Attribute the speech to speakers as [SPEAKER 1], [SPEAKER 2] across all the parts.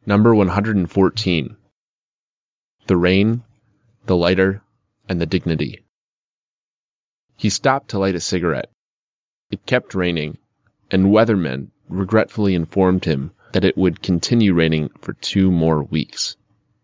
[SPEAKER 1] Number 114. The Rain, the Lighter, and the Dignity. He stopped to light a cigarette. It kept raining, and weathermen regretfully informed him that it would continue raining for 2 more weeks.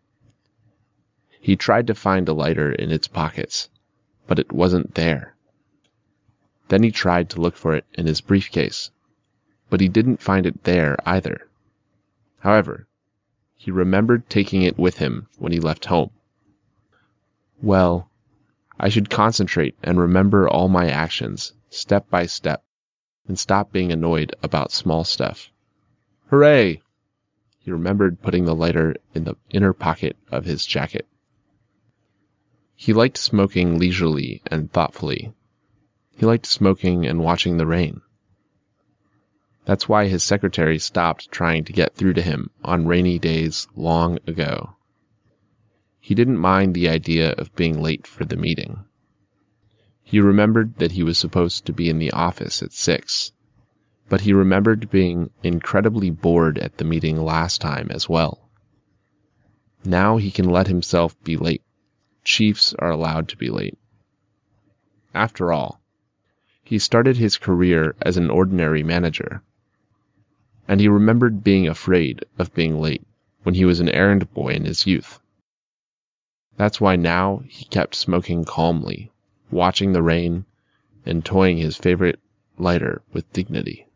[SPEAKER 1] He tried to find a lighter in its pockets, but it wasn't there. Then he tried to look for it in his briefcase, but he didn't find it there either. However, he remembered taking it with him when he left home. Well, I should concentrate and remember all my actions, step by step, and stop being annoyed about small stuff. Hooray! He remembered putting the lighter in the inner pocket of his jacket. He liked smoking leisurely and thoughtfully. He liked smoking and watching the rain. That's why his secretary stopped trying to get through to him on rainy days long ago. He didn't mind the idea of being late for the meeting. He remembered that he was supposed to be in the office at 6, but he remembered being incredibly bored at the meeting last time as well. Now he can let himself be late. Chiefs are allowed to be late. After all, he started his career as an ordinary manager, and he remembered being afraid of being late when he was an errand boy in his youth. That's why now he kept smoking calmly, watching the rain, and toying his favorite lighter with dignity.